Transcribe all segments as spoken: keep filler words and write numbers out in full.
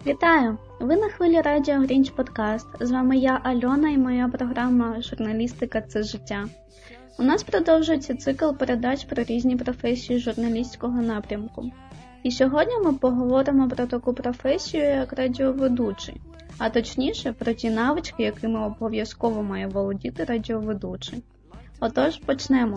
Вітаю! Ви на хвилі радіо Грінч Подкаст. З вами я, Альона, і моя програма «Журналістика – це життя». У нас продовжується цикл передач про різні професії журналістського напрямку. І сьогодні ми поговоримо про таку професію, як радіоведучий, а точніше про ті навички, якими обов'язково має володіти радіоведучий. Отож, почнемо.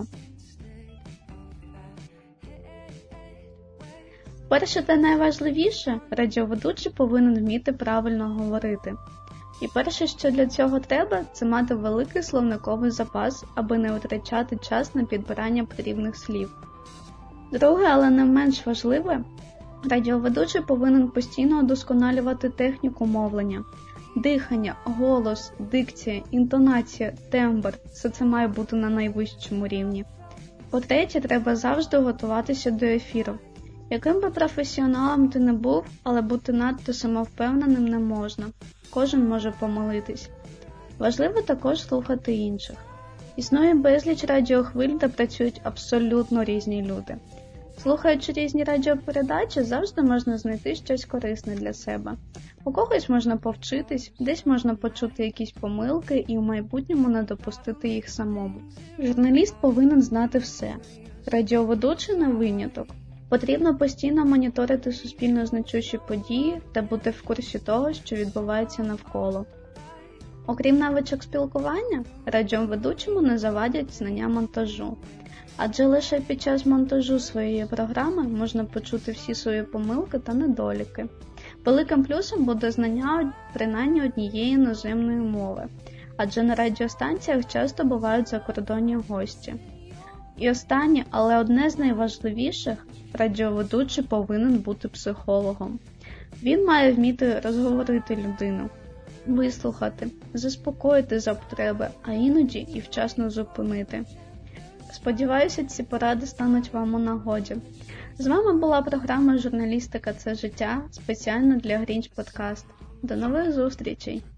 Перше та найважливіше, радіоведучий повинен вміти правильно говорити. І перше, що для цього треба, це мати великий словниковий запас, аби не витрачати час на підбирання потрібних слів. Друге, але не менш важливе, радіоведучий повинен постійно удосконалювати техніку мовлення. Дихання, голос, дикція, інтонація, тембр – все це має бути на найвищому рівні. По-третє, треба завжди готуватися до ефіру. Яким би професіоналом ти не був, але бути надто самовпевненим не можна. Кожен може помилитись. Важливо також слухати інших. Існує безліч радіохвиль, де працюють абсолютно різні люди. Слухаючи різні радіопередачі, завжди можна знайти щось корисне для себе. У когось можна повчитись, десь можна почути якісь помилки і в майбутньому не допустити їх самому. Журналіст повинен знати все. Радіоведучий не виняток. Потрібно постійно моніторити суспільно значущі події та бути в курсі того, що відбувається навколо. Окрім навичок спілкування, радіоведучому не завадять знання монтажу. Адже лише під час монтажу своєї програми можна почути всі свої помилки та недоліки. Великим плюсом буде знання принаймні однієї іноземної мови, адже на радіостанціях часто бувають закордонні гості. І останнє, але одне з найважливіших, радіоведучий повинен бути психологом. Він має вміти розговорити людину, вислухати, заспокоїти за потреби, а іноді і вчасно зупинити. Сподіваюся, ці поради стануть вам у нагоді. З вами була програма «Журналістика – це життя» спеціально для Грінч Подкаст. До нових зустрічей!